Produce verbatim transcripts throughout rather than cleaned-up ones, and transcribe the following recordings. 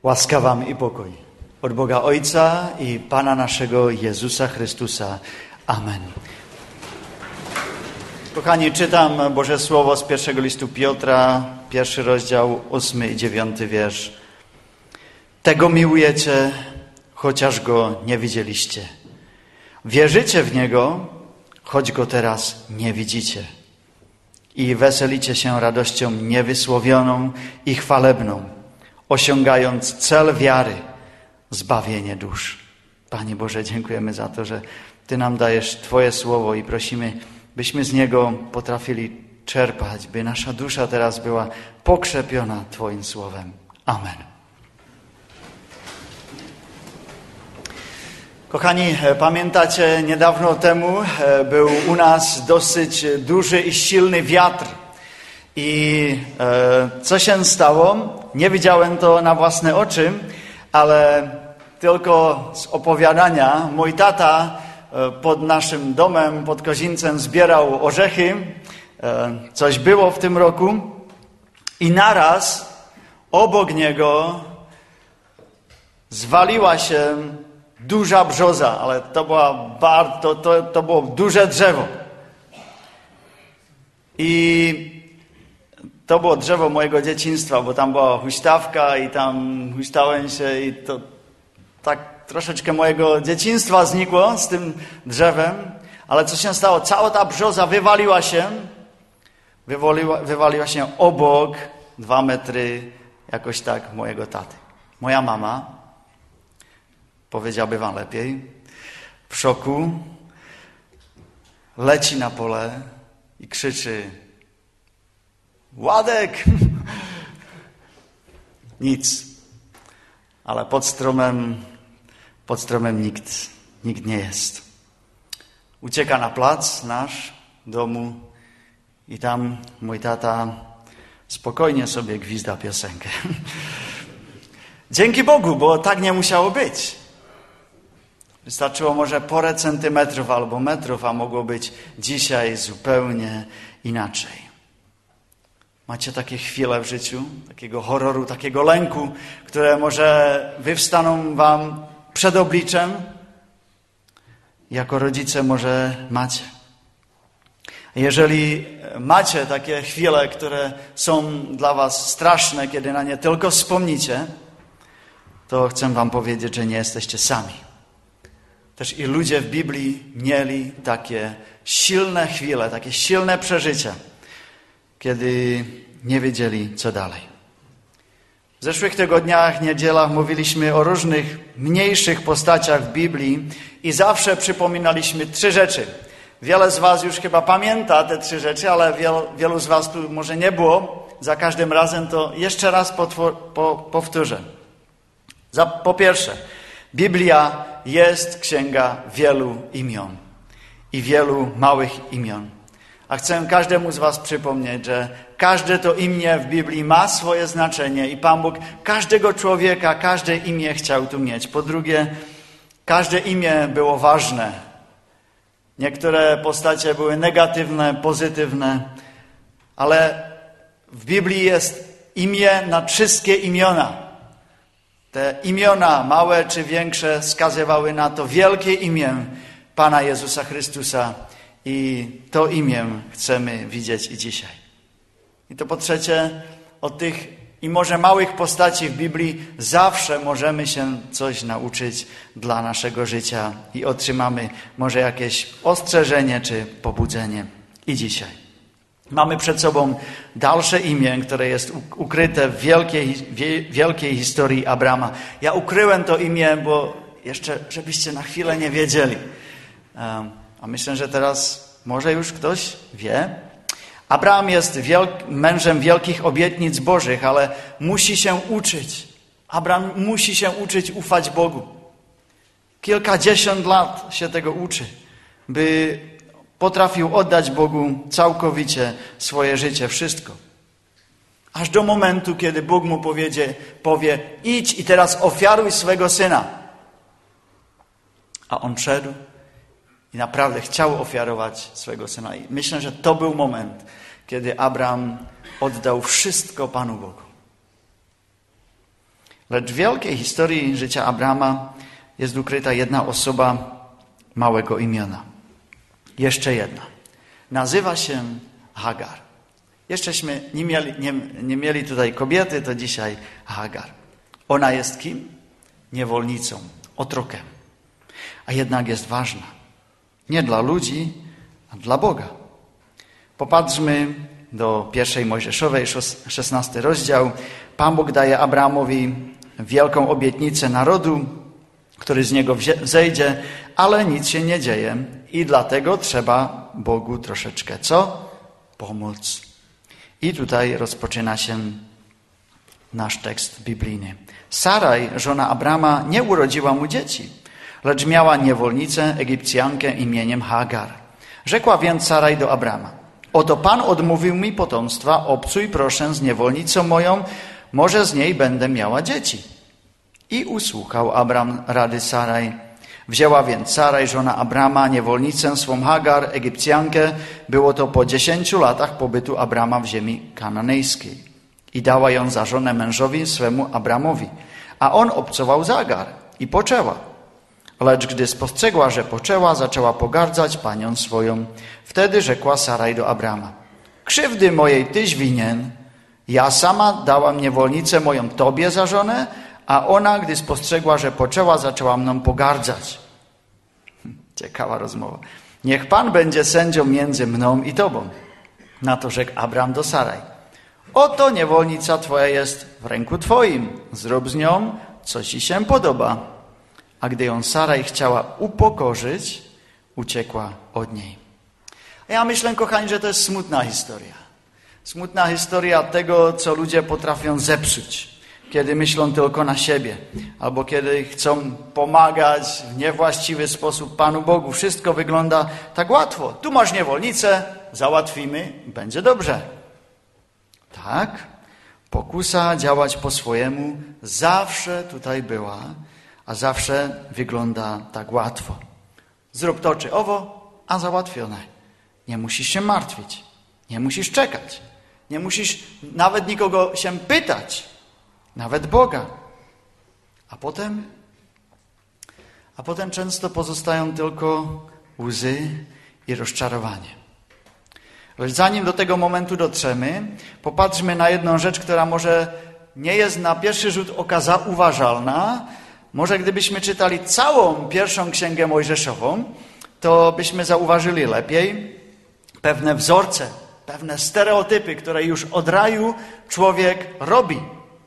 Łaska wam i pokój od Boga Ojca i Pana naszego Jezusa Chrystusa. Amen. Kochani, czytam Boże Słowo z pierwszego listu Piotra, pierwszy rozdział, ósmy i dziewiąty wiersz. Tego miłujecie, chociaż Go nie widzieliście. Wierzycie w Niego, choć Go teraz nie widzicie. I weselicie się radością niewysłowioną i chwalebną, osiągając cel wiary, zbawienie dusz. Panie Boże, dziękujemy za to, że Ty nam dajesz Twoje Słowo i prosimy, byśmy z niego potrafili czerpać, by nasza dusza teraz była pokrzepiona Twoim Słowem. Amen. Kochani, pamiętacie, niedawno temu był u nas dosyć duży i silny wiatr. I e, co się stało? Nie widziałem to na własne oczy, ale tylko z opowiadania. Mój tata e, pod naszym domem, pod Kozincem zbierał orzechy. E, coś było w tym roku. I naraz obok niego zwaliła się duża brzoza, ale to, była bar, to, to, to było duże drzewo. I to było drzewo mojego dzieciństwa, bo tam była huśtawka i tam huśtałem się i to tak troszeczkę mojego dzieciństwa znikło z tym drzewem. Ale co się stało? Cała ta brzoza wywaliła się, wywaliła, wywaliła się obok dwa metry jakoś tak mojego taty. Moja mama, powiedziałby wam lepiej, w szoku leci na pole i krzyczy: Władek! Nic. Ale pod stromem, pod stromem nikt, nikt nie jest. Ucieka na plac nasz, domu i tam mój tata spokojnie sobie gwizda piosenkę. Dzięki Bogu, bo tak nie musiało być. Wystarczyło może parę centymetrów albo metrów, a mogło być dzisiaj zupełnie inaczej. Macie takie chwile w życiu, takiego horroru, takiego lęku, które może wywstaną wam przed obliczem? Jako rodzice może macie. Jeżeli macie takie chwile, które są dla was straszne, kiedy na nie tylko wspomnicie, to chcę wam powiedzieć, że nie jesteście sami. Też i ludzie w Biblii mieli takie silne chwile, takie silne przeżycia, kiedy nie wiedzieli, co dalej. W zeszłych tygodniach, niedzielach mówiliśmy o różnych mniejszych postaciach w Biblii i zawsze przypominaliśmy trzy rzeczy. Wiele z was już chyba pamięta te trzy rzeczy, ale wielu, wielu z was tu może nie było. Za każdym razem to jeszcze raz potwor, po, powtórzę. Za, po pierwsze, Biblia jest księga wielu imion i wielu małych imion. A chcę każdemu z was przypomnieć, że każde to imię w Biblii ma swoje znaczenie i Pan Bóg każdego człowieka, każde imię chciał tu mieć. Po drugie, każde imię było ważne. Niektóre postacie były negatywne, pozytywne, ale w Biblii jest imię na wszystkie imiona. Te imiona, małe czy większe, wskazywały na to wielkie imię Pana Jezusa Chrystusa. I to imię chcemy widzieć i dzisiaj. I to po trzecie, od tych i może małych postaci w Biblii zawsze możemy się coś nauczyć dla naszego życia i otrzymamy może jakieś ostrzeżenie czy pobudzenie i dzisiaj. Mamy przed sobą dalsze imię, które jest ukryte w wielkiej, wielkiej historii Abrama. Ja ukryłem to imię, bo jeszcze, żebyście na chwilę nie wiedzieli. A myślę, że teraz może już ktoś wie. Abraham jest wielk- mężem wielkich obietnic Bożych, ale musi się uczyć. Abraham musi się uczyć ufać Bogu. Kilkadziesiąt lat się tego uczy, by potrafił oddać Bogu całkowicie swoje życie, wszystko. Aż do momentu, kiedy Bóg mu powiedzie, powie: idź i teraz ofiaruj swego syna. A on szedł i naprawdę chciał ofiarować swego syna. I myślę, że to był moment, kiedy Abraham oddał wszystko Panu Bogu. Lecz w wielkiej historii życia Abrama jest ukryta jedna osoba małego imiona. Jeszcze jedna. Nazywa się Hagar. Jeszcześmy nie mieli, nie, nie mieli tutaj kobiety, to dzisiaj Hagar. Ona jest kim? Niewolnicą, otrokiem. A jednak jest ważna. Nie dla ludzi, a dla Boga. Popatrzmy do pierwszej Mojżeszowej, szesnasty rozdział. Pan Bóg daje Abramowi wielką obietnicę narodu, który z niego zejdzie, ale nic się nie dzieje i dlatego trzeba Bogu troszeczkę co? Pomóc. I tutaj rozpoczyna się nasz tekst biblijny. Saraj, żona Abrama, nie urodziła mu dzieci, lecz miała niewolnicę Egipcjankę imieniem Hagar. Rzekła więc Saraj do Abrama: oto Pan odmówił mi potomstwa, obcuj proszę z niewolnicą moją, może z niej będę miała dzieci. I usłuchał Abram rady Saraj. Wzięła więc Saraj, żona Abrama, niewolnicę swą Hagar, Egipcjankę. Było to po dziesięciu latach pobytu Abrama w ziemi kananejskiej. I dała ją za żonę mężowi swemu Abramowi. A on obcował z Hagar i poczęła. Lecz gdy spostrzegła, że poczęła, zaczęła pogardzać panią swoją. Wtedy rzekła Saraj do Abrama: krzywdy mojej tyś winien. Ja sama dałam niewolnicę moją tobie za żonę, a ona, gdy spostrzegła, że poczęła, zaczęła mną pogardzać. Ciekawa rozmowa. Niech Pan będzie sędzią między mną i tobą. Na to rzekł Abram do Saraj: oto niewolnica twoja jest w ręku twoim. Zrób z nią, co ci się podoba. A gdy ją Saraj chciała upokorzyć, uciekła od niej. Ja myślę, kochani, że to jest smutna historia. Smutna historia tego, co ludzie potrafią zepsuć, kiedy myślą tylko na siebie, albo kiedy chcą pomagać w niewłaściwy sposób Panu Bogu. Wszystko wygląda tak łatwo. Tu masz niewolnicę, załatwimy, będzie dobrze. Tak, pokusa działać po swojemu zawsze tutaj była, a zawsze wygląda tak łatwo. Zrób to czy owo, a załatwione. Nie musisz się martwić, nie musisz czekać, nie musisz nawet nikogo się pytać, nawet Boga. A potem, a potem często pozostają tylko łzy i rozczarowanie. Lecz zanim do tego momentu dotrzemy, popatrzmy na jedną rzecz, która może nie jest na pierwszy rzut oka zauważalna. Może gdybyśmy czytali całą pierwszą księgę Mojżeszową, to byśmy zauważyli lepiej pewne wzorce, pewne stereotypy, które już od raju człowiek robi.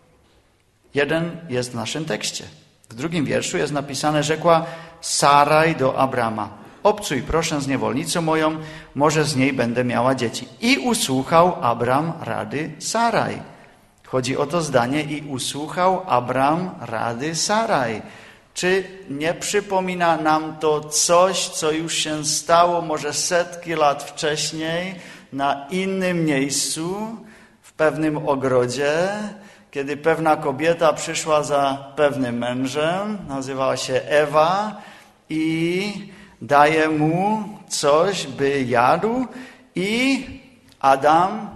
Jeden jest w naszym tekście. W drugim wierszu jest napisane: rzekła Saraj do Abrama: obcuj proszę z niewolnicą moją, może z niej będę miała dzieci. I usłuchał Abram rady Saraj. Chodzi o to zdanie: i usłuchał Abram rady Saraj. Czy nie przypomina nam to coś, co już się stało może setki lat wcześniej na innym miejscu, w pewnym ogrodzie, kiedy pewna kobieta przyszła za pewnym mężem, nazywała się Ewa, i daje mu coś, by jadł, i Adam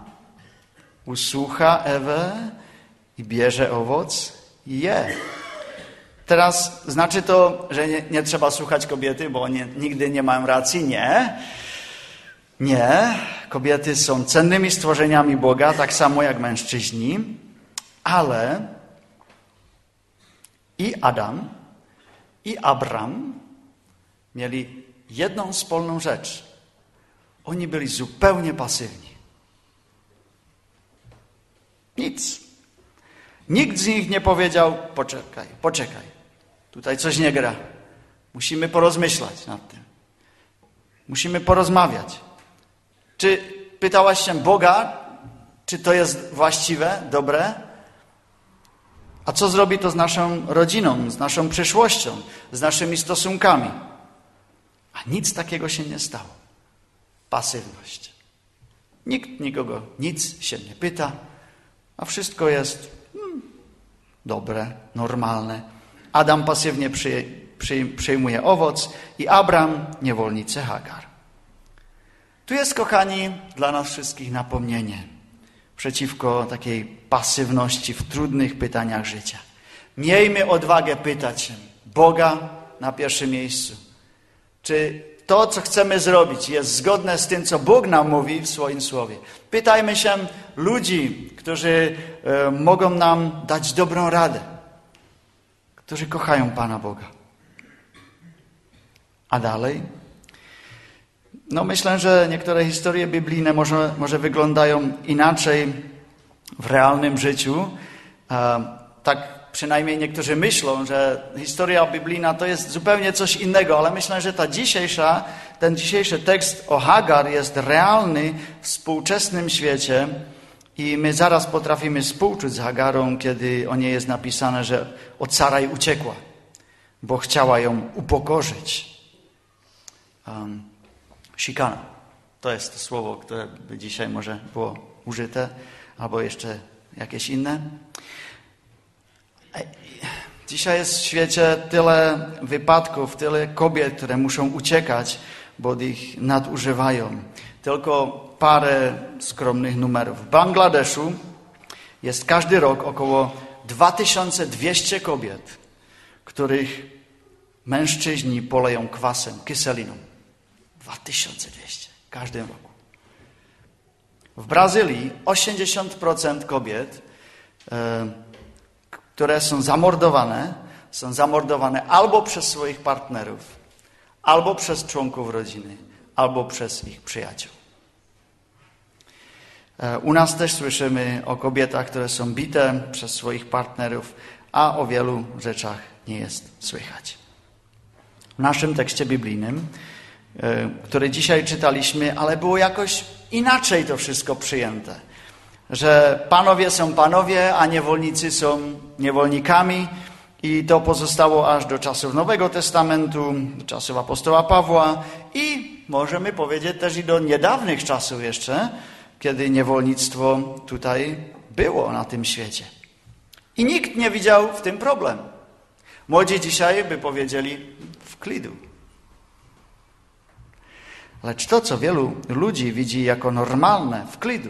usłucha Ewę i bierze owoc i je. Teraz znaczy to, że nie, nie trzeba słuchać kobiety, bo nie, nigdy nie mają racji? Nie. Nie. Kobiety są cennymi stworzeniami Boga, tak samo jak mężczyźni, ale i Adam, i Abram mieli jedną wspólną rzecz. Oni byli zupełnie pasywni. Nic. Nikt z nich nie powiedział: poczekaj, poczekaj. Tutaj coś nie gra. Musimy porozmyślać nad tym. Musimy porozmawiać. Czy pytałaś się Boga, czy to jest właściwe, dobre? A co zrobi to z naszą rodziną, z naszą przyszłością, z naszymi stosunkami? A nic takiego się nie stało. Pasywność. Nikt nikogo nic się nie pyta, a wszystko jest hmm, dobre, normalne. Adam pasywnie przy, przy, przyjmuje owoc i Abram niewolnicę Hagar. Tu jest, kochani, dla nas wszystkich napomnienie przeciwko takiej pasywności w trudnych pytaniach życia. Miejmy odwagę pytać się Boga na pierwszym miejscu. Czy to, co chcemy zrobić, jest zgodne z tym, co Bóg nam mówi w swoim słowie? Pytajmy się ludzi, którzy e, mogą nam dać dobrą radę, którzy kochają Pana Boga. A dalej? No myślę, że niektóre historie biblijne może, może wyglądają inaczej w realnym życiu. E, tak przynajmniej niektórzy myślą, że historia biblijna to jest zupełnie coś innego, ale myślę, że ta dzisiejsza, ten dzisiejszy tekst o Hagar jest realny w współczesnym świecie i my zaraz potrafimy współczuć z Hagarą, kiedy o niej jest napisane, że od Sarai uciekła, bo chciała ją upokorzyć. Um, Szikana. To jest to słowo, które by dzisiaj może było użyte, albo jeszcze jakieś inne. Dzisiaj jest w świecie tyle wypadków, tyle kobiet, które muszą uciekać, bo ich nadużywają. Tylko parę skromnych numerów. W Bangladeszu jest każdy rok około dwa tysiące dwieście kobiet, których mężczyźni poleją kwasem, kyseliną. dwa tysiące dwieście w każdym roku. W Brazylii osiemdziesiąt procent kobiet, e, które są zamordowane, są zamordowane albo przez swoich partnerów, albo przez członków rodziny, albo przez ich przyjaciół. E, u nas też słyszymy o kobietach, które są bite przez swoich partnerów, a o wielu rzeczach nie jest słychać. W naszym tekście biblijnym, które dzisiaj czytaliśmy, ale było jakoś inaczej to wszystko przyjęte. Że panowie są panowie, a niewolnicy są niewolnikami i to pozostało aż do czasów Nowego Testamentu, do czasów apostoła Pawła i możemy powiedzieć też i do niedawnych czasów jeszcze, kiedy niewolnictwo tutaj było na tym świecie. I nikt nie widział w tym problem. Młodzi dzisiaj by powiedzieli wklidu. Lecz to, co wielu ludzi widzi jako normalne, wklidu,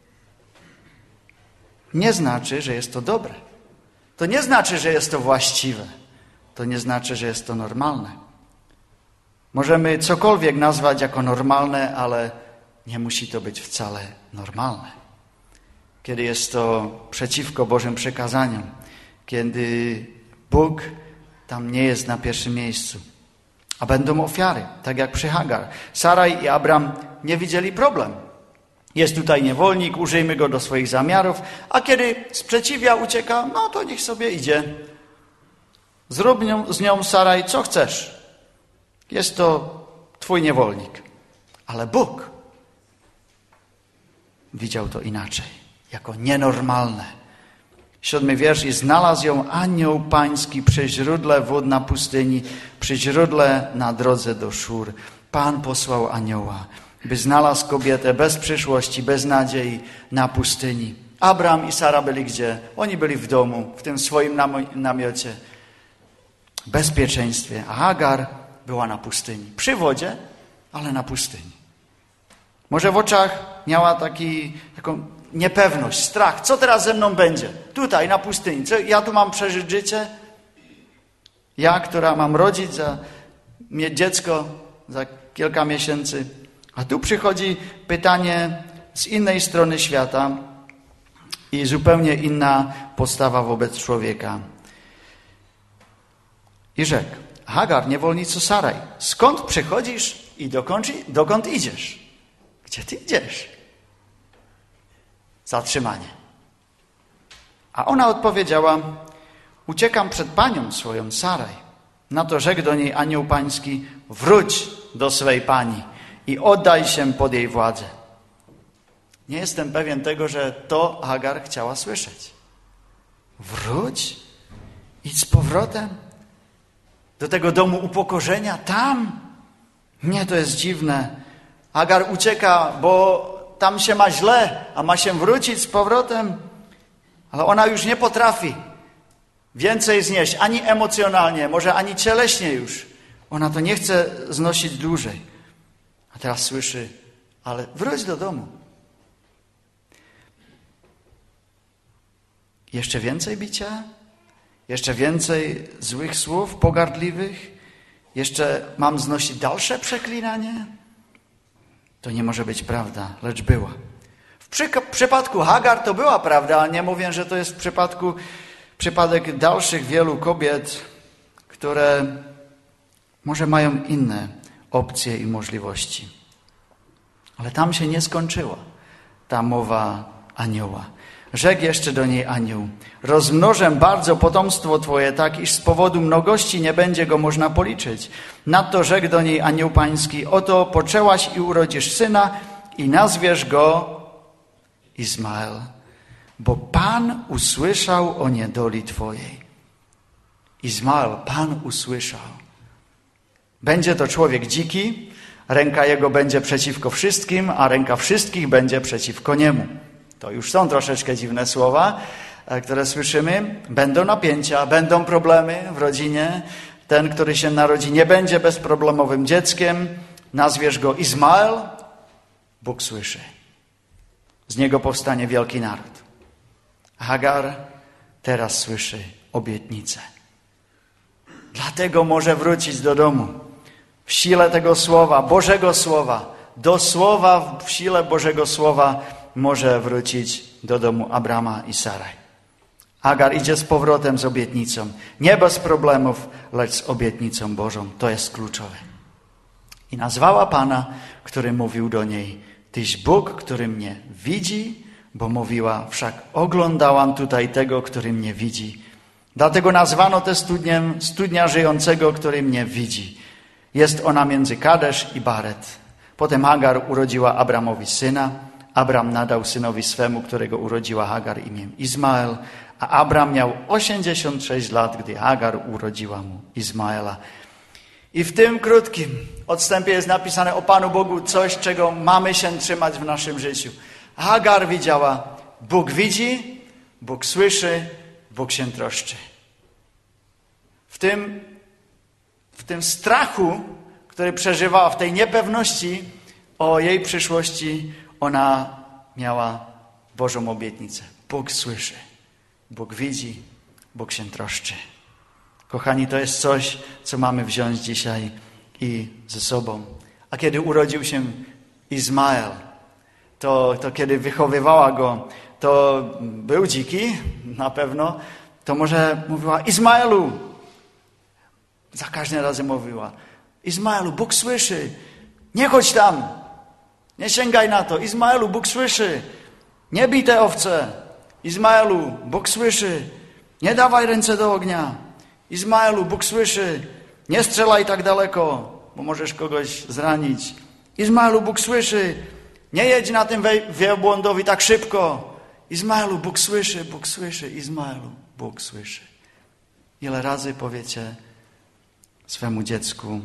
nie znaczy, że jest to dobre. To nie znaczy, że jest to właściwe. To nie znaczy, że jest to normalne. Możemy cokolwiek nazwać jako normalne, ale nie musi to być wcale normalne. Kiedy jest to przeciwko Bożym przekazaniom, kiedy Bóg tam nie jest na pierwszym miejscu. A będą ofiary, tak jak przy Hagar. Saraj i Abram nie widzieli problem. Jest tutaj niewolnik, użyjmy go do swoich zamiarów, a kiedy sprzeciwia, ucieka, no to niech sobie idzie. Zrób nią, z nią, Saraj, co chcesz. Jest to twój niewolnik. Ale Bóg widział to inaczej, jako nienormalne. Siódmy wiersz. I znalazł ją anioł pański przy źródle wód na pustyni, przy źródle na drodze do Szur. Pan posłał anioła, by znalazł kobietę bez przyszłości, bez nadziei na pustyni. Abram i Sara byli gdzie? Oni byli w domu, w tym swoim namiocie, w bezpieczeństwie. A Hagar była na pustyni. Przy wodzie, ale na pustyni. Może w oczach miała taki, taką niepewność, strach. Co teraz ze mną będzie? Tutaj, na pustyni. Co, ja tu mam przeżyć życie? Ja, która mam rodzić, za, mieć dziecko za kilka miesięcy. A tu przychodzi pytanie z innej strony świata i zupełnie inna postawa wobec człowieka. I rzekł: Hagar, niewolnico Saraj, skąd przychodzisz i dokąd, dokąd idziesz? Gdzie ty idziesz? Zatrzymanie. A ona odpowiedziała: uciekam przed panią swoją Saraj. Na to rzekł do niej anioł pański: wróć do swej pani i oddaj się pod jej władzę. Nie jestem pewien tego, że to Hagar chciała słyszeć. Wróć? Idź z powrotem do tego domu upokorzenia? Tam? Nie, to jest dziwne. Hagar ucieka, bo tam się ma źle, a ma się wrócić z powrotem. Ale ona już nie potrafi więcej znieść, ani emocjonalnie, może ani cieleśnie już. Ona to nie chce znosić dłużej. A teraz słyszy: ale wróć do domu. Jeszcze więcej bicia? Jeszcze więcej złych słów, pogardliwych? Jeszcze mam znosić dalsze przeklinanie? To nie może być prawda, lecz była. W przy, przypadku Hagar to była prawda, ale nie mówię, że to jest w przypadku, przypadek dalszych wielu kobiet, które może mają inne opcje i możliwości. Ale tam się nie skończyła ta mowa anioła. Rzekł jeszcze do niej anioł: rozmnożę bardzo potomstwo twoje, tak iż z powodu mnogości nie będzie go można policzyć. Nadto rzekł do niej anioł pański: oto poczęłaś i urodzisz syna i nazwiesz go Izmael, bo Pan usłyszał o niedoli twojej. Izmael, Pan usłyszał. Będzie to człowiek dziki, ręka jego będzie przeciwko wszystkim, a ręka wszystkich będzie przeciwko niemu. To już są troszeczkę dziwne słowa, które słyszymy. Będą napięcia, będą problemy w rodzinie. Ten, który się narodzi, nie będzie bezproblemowym dzieckiem. Nazwiesz go Izmael. Bóg słyszy. Z niego powstanie wielki naród. Hagar teraz słyszy obietnicę. Dlatego może wrócić do domu. W sile tego słowa, Bożego Słowa, do słowa w sile Bożego Słowa może wrócić do domu Abrama i Saraj. Hagar idzie z powrotem z obietnicą. Nie bez problemów, lecz z obietnicą Bożą. To jest kluczowe. I nazwała Pana, który mówił do niej: tyś Bóg, który mnie widzi, bo mówiła: wszak oglądałam tutaj tego, który mnie widzi. Dlatego nazwano tę studnię studnia żyjącego, który mnie widzi. Jest ona między Kadesz i Baret. Potem Hagar urodziła Abramowi syna. Abram nadał synowi swemu, którego urodziła Hagar, imię Izmael, a Abram miał osiemdziesiąt sześć lat, gdy Hagar urodziła mu Izmaela. I w tym krótkim odstępie jest napisane o Panu Bogu coś, czego mamy się trzymać w naszym życiu. Hagar widziała: Bóg widzi, Bóg słyszy, Bóg się troszczy. W tym, w tym strachu, który przeżywała, w tej niepewności o jej przyszłości, ona miała Bożą obietnicę. Bóg słyszy, Bóg widzi, Bóg się troszczy. Kochani, to jest coś, co mamy wziąć dzisiaj i ze sobą. A kiedy urodził się Izmael, to, to kiedy wychowywała go, to był dziki, na pewno, to może mówiła: Izmaelu. Za każdym razem mówiła: Izmaelu, Bóg słyszy, nie chodź tam, nie sięgaj na to. Izmaelu, Bóg słyszy, nie bij te owce. Izmaelu, Bóg słyszy, nie dawaj ręce do ognia. Izmaelu, Bóg słyszy, nie strzelaj tak daleko, bo możesz kogoś zranić. Izmaelu, Bóg słyszy, nie jedź na tym wielbłądowi tak szybko. Izmaelu, Bóg słyszy, Bóg słyszy. Izmaelu, Bóg słyszy. Ile razy powiecie swemu dziecku,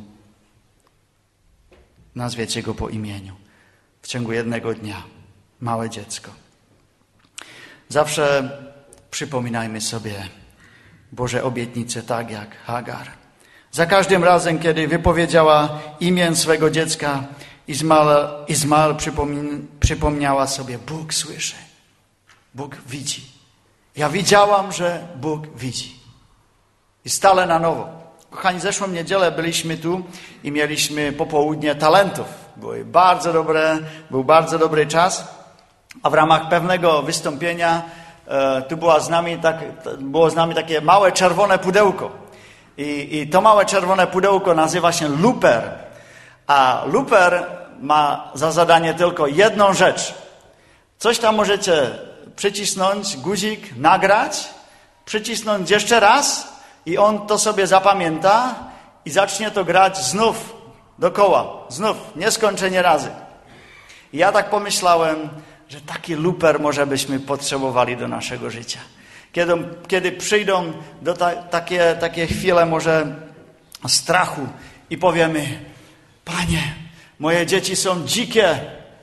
nazwiecie go po imieniu w ciągu jednego dnia, małe dziecko. Zawsze przypominajmy sobie Boże obietnice, tak jak Hagar. Za każdym razem, kiedy wypowiedziała imię swego dziecka, Izmael, Izmael przypomin, przypomniała sobie: Bóg słyszy, Bóg widzi. Ja widziałam, że Bóg widzi. I stale na nowo. Kochani, zeszłą niedzielę byliśmy tu i mieliśmy popołudnie talentów. Były bardzo dobre, był bardzo dobry czas, a w ramach pewnego wystąpienia e, tu była z nami tak, było z nami takie małe czerwone pudełko. I, I to małe czerwone pudełko nazywa się luper. A luper ma za zadanie tylko jedną rzecz. Coś tam możecie przycisnąć, guzik, nagrać, przycisnąć jeszcze raz i on to sobie zapamięta i zacznie to grać znów, dokoła, znów, nieskończenie razy. I ja tak pomyślałem, że taki luper może byśmy potrzebowali do naszego życia. Kiedy, kiedy przyjdą do ta, takie, takie chwile może strachu i powiemy: Panie, moje dzieci są dzikie.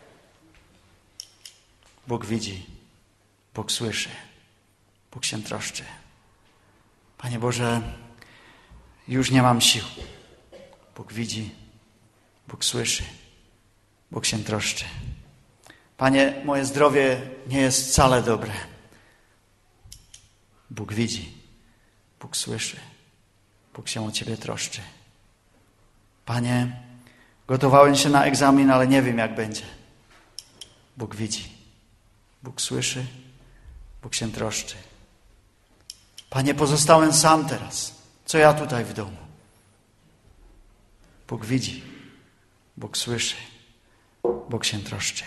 Bóg widzi, Bóg słyszy, Bóg się troszczy. Panie Boże, już nie mam sił. Bóg widzi, Bóg słyszy, Bóg się troszczy. Panie, moje zdrowie nie jest wcale dobre. Bóg widzi, Bóg słyszy. Bóg się o ciebie troszczy. Panie, gotowałem się na egzamin, ale nie wiem, jak będzie. Bóg widzi. Bóg słyszy. Bóg się troszczy. Panie, pozostałem sam teraz. Co ja tutaj w domu? Bóg widzi. Bóg słyszy. Bóg się troszczy.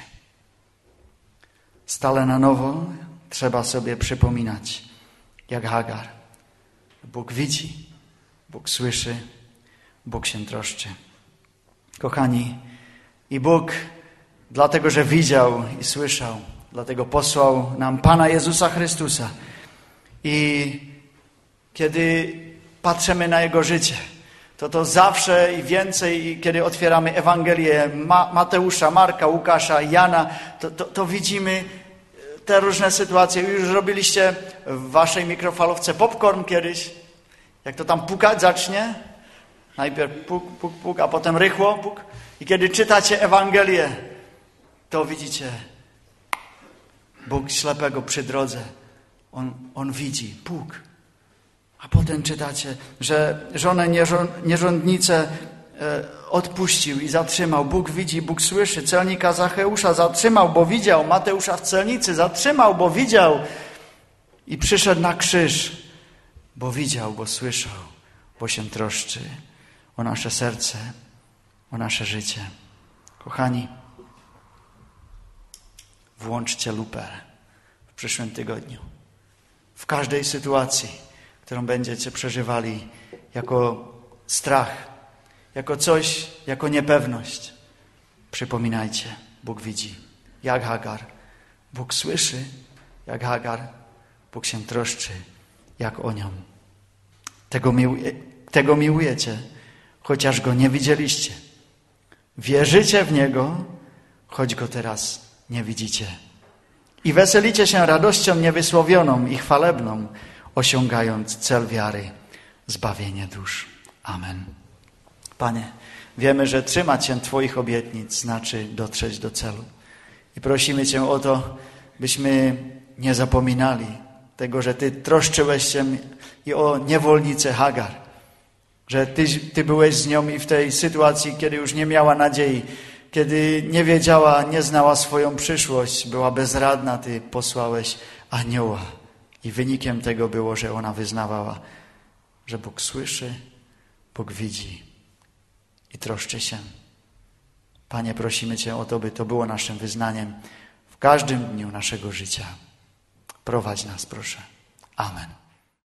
Stale na nowo trzeba sobie przypominać, jak Hagar. Bóg widzi. Bóg słyszy. Bóg się troszczy. Kochani, i Bóg, dlatego że widział i słyszał, dlatego posłał nam Pana Jezusa Chrystusa. I kiedy patrzymy na Jego życie, to to zawsze i więcej, kiedy otwieramy Ewangelię Ma- Mateusza, Marka, Łukasza, Jana, to, to, to widzimy te różne sytuacje. Już robiliście w waszej mikrofalówce popcorn kiedyś, jak to tam pukać zacznie. Najpierw puk, puk, puk, a potem rychło puk. I kiedy czytacie Ewangelię, to widzicie Bóg ślepego przy drodze. On, on widzi puk. A potem czytacie, że żonę nierządnicę odpuścił i zatrzymał. Bóg widzi, Bóg słyszy. Celnika Zacheusza zatrzymał, bo widział. Mateusza w celnicy zatrzymał, bo widział. I przyszedł na krzyż, bo widział, bo słyszał, bo się troszczy o nasze serce, o nasze życie. Kochani, włączcie lupę w przyszłym tygodniu. W każdej sytuacji, którą będziecie przeżywali jako strach, jako coś, jako niepewność. Przypominajcie, Bóg widzi, jak Hagar. Bóg słyszy, jak Hagar. Bóg się troszczy, jak o nią. Tego, miłuje, tego miłujecie, chociaż Go nie widzieliście. Wierzycie w Niego, choć Go teraz nie widzicie. I weselicie się radością niewysłowioną i chwalebną, osiągając cel wiary, zbawienie dusz. Amen. Panie, wiemy, że trzymać się Twoich obietnic znaczy dotrzeć do celu. I prosimy Cię o to, byśmy nie zapominali tego, że Ty troszczyłeś się i o niewolnicę Hagar. Że Ty, Ty byłeś z nią i w tej sytuacji, kiedy już nie miała nadziei, kiedy nie wiedziała, nie znała swoją przyszłość, była bezradna, Ty posłałeś anioła. I wynikiem tego było, że ona wyznawała, że Bóg słyszy, Bóg widzi i troszczy się. Panie, prosimy Cię o to, by to było naszym wyznaniem w każdym dniu naszego życia. Prowadź nas, proszę. Amen.